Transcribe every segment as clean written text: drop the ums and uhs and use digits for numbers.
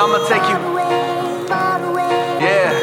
I'ma take you. Yeah.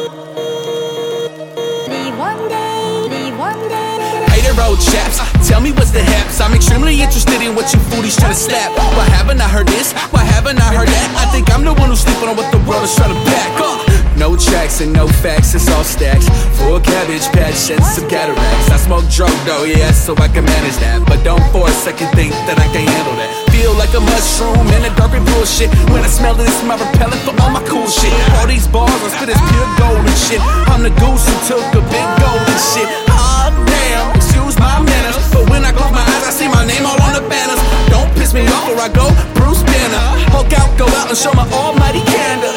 Hey there, road chaps, tell me what's the haps. I'm extremely interested in what you foodies tryna slap. Why haven't I heard this? Why haven't I heard that? I think I'm the one who's sleeping on what the world is trying to back up. No tracks and no facts, it's all stacks. Full cabbage patch and some cataracts. I smoke drug though, yeah, so I can manage that. But don't for a second think that I can't handle that. Feel like a mushroom in a dark and bullshit. When I smell it, it's my repellent for all my cool shit. All these bars, I spit is pure gold and shit. I'm the goose who took a big golden shit. Ah, damn, excuse my manners, but when I close my eyes, I see my name all on the banners. Don't piss me off or I go Bruce Banner. Hulk out, go out and show my almighty candor.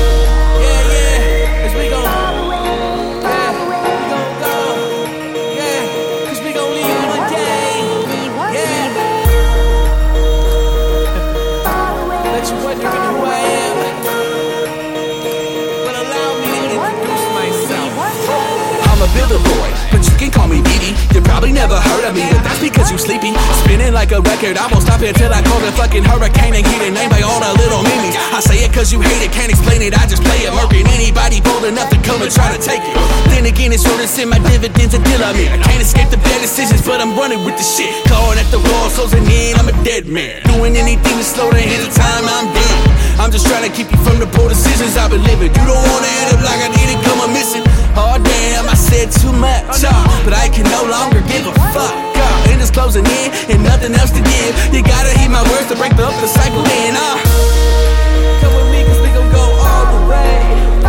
I'm a builder boy, but you can call me BD. You probably never heard of me, but that's because you sleepy. Spinning like a record, I won't stop until I call the fucking hurricane and get it named by all the little meanies. I say it cause you hate it, can't explain it, I just play it. Murking anybody bold enough to come and try to take it. Then again, it's sure to send my dividends until I'm in. I can't escape the bad decisions, but I'm running with the shit. Clawing at the wall, closing in, I'm a dead man. Doing anything to slow the hands of time, I'm dead. I'm just trying to keep you from the poor decisions I've been living. You don't wanna end up like I did it, come a missing. Oh damn, I said too much, but I can no longer give a fuck. And it's closing in, and nothing else to give. You gotta heed my words to break up the cycle in. Come with me, cause we gon' go all the way.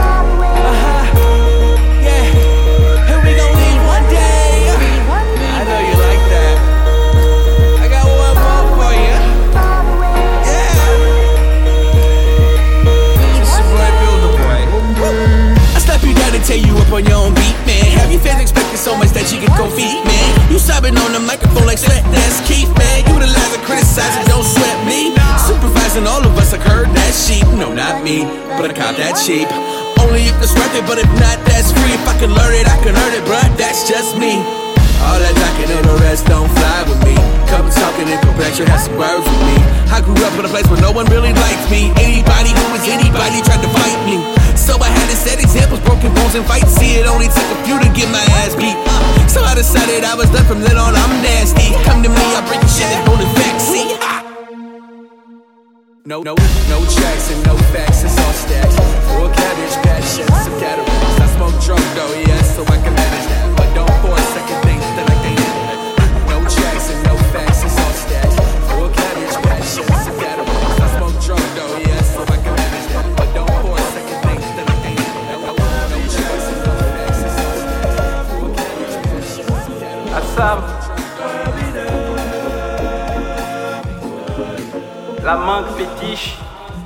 Yeah, and we gon' leave one day. I know you like that. I got one more for you. Yeah. It's your boy, Builder Boy. I slap you down and tear you up on your own beat, man. Have your fans expecting so much that you can go feed, man? You sobbing on the microphone like sweat, that's Keith, man. You utilize and criticize and don't sweat me. Supervising all of us, I heard that sheep. No, not me, but I caught that cheap. Only if it's worth it, but if not, that's free. If I can learn it, I can earn it, bruh, that's just me. All that talking and the rest don't fly with me. Couple talking and perplexed, have some words with me. I grew up in a place where no one really liked me. Anybody who was anybody tried to fight me. So I had to set examples, broken bones and fights. See, it only took a few to get my ass beat. So I decided I was done from then on, I'm nasty. Come to me, I break your shit and hold it back, see? No tracks and no facts, it's all stacks. Full cabbage patch and some cataracts. I smoke drug though, yeah, so I can manage that. But don't for a second think that I can't handle that. No tracks and no facts, it's all stacks. Full cabbage patch and some cataracts. I smoke drug though, yeah, so I can manage that. But don't for a second think that I can't handle that. No tracks and no facts, it's all stacks. Full cabbage patch and some cataracts. Assam. La manque fétiche.